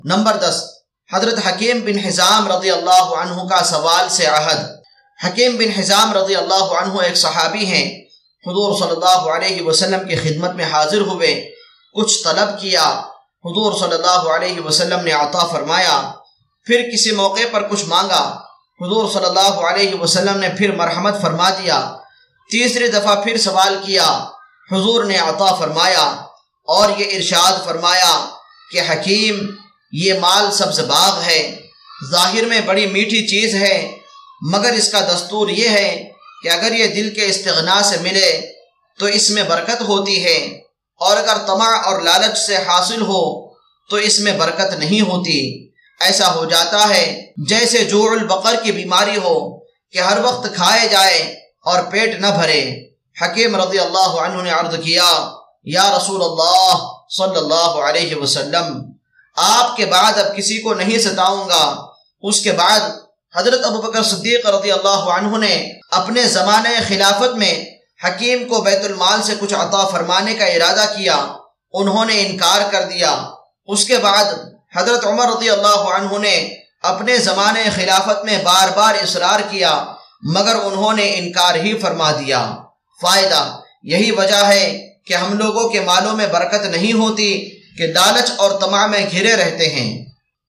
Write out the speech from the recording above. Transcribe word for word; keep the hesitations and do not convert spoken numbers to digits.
Number دس، حضرت حکیم بن حزام رضی اللہ عنہ کا سوال سے عہد۔ حکیم بن حزام رضی اللہ عنہ ایک صحابی ہیں، حضور صلی اللہ علیہ وسلم کی خدمت میں حاضر ہوئے، کچھ طلب کیا، حضور صلی اللہ علیہ وسلم نے عطا فرمایا۔ پھر کسی موقع پر کچھ مانگا، حضور صلی اللہ علیہ وسلم نے پھر مرحمت فرما دیا۔ تیسری دفعہ پھر سوال کیا، حضور نے عطا فرمایا اور یہ ارشاد فرمایا کہ حکیم، یہ مال سبز باغ ہے، ظاہر میں بڑی میٹھی چیز ہے، مگر اس کا دستور یہ ہے کہ اگر یہ دل کے استغنا سے ملے تو اس میں برکت ہوتی ہے، اور اگر طمع اور لالچ سے حاصل ہو تو اس میں برکت نہیں ہوتی۔ ایسا ہو جاتا ہے جیسے جوع البقر کی بیماری ہو کہ ہر وقت کھائے جائے اور پیٹ نہ بھرے۔ حکیم رضی اللہ عنہ نے عرض کیا، یا رسول اللہ صلی اللہ علیہ وسلم، آپ کے بعد اب کسی کو نہیں ستاؤں گا۔ اس کے بعد حضرت ابوبکر صدیق رضی اللہ عنہ نے اپنے زمانے خلافت میں حکیم کو بیت المال سے کچھ عطا فرمانے کا ارادہ کیا، انہوں نے انکار کر دیا۔ اس کے بعد حضرت عمر رضی اللہ عنہ نے اپنے زمانے خلافت میں بار بار اصرار کیا، مگر انہوں نے انکار ہی فرما دیا۔ فائدہ یہی وجہ ہے کہ ہم لوگوں کے مالوں میں برکت نہیں ہوتی کہ لالچ اور طمع میں گھرے رہتے ہیں۔